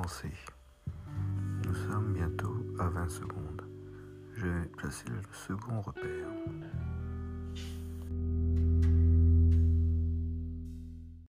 commencer. Nous sommes bientôt à 20 secondes. Je vais placer le second repère.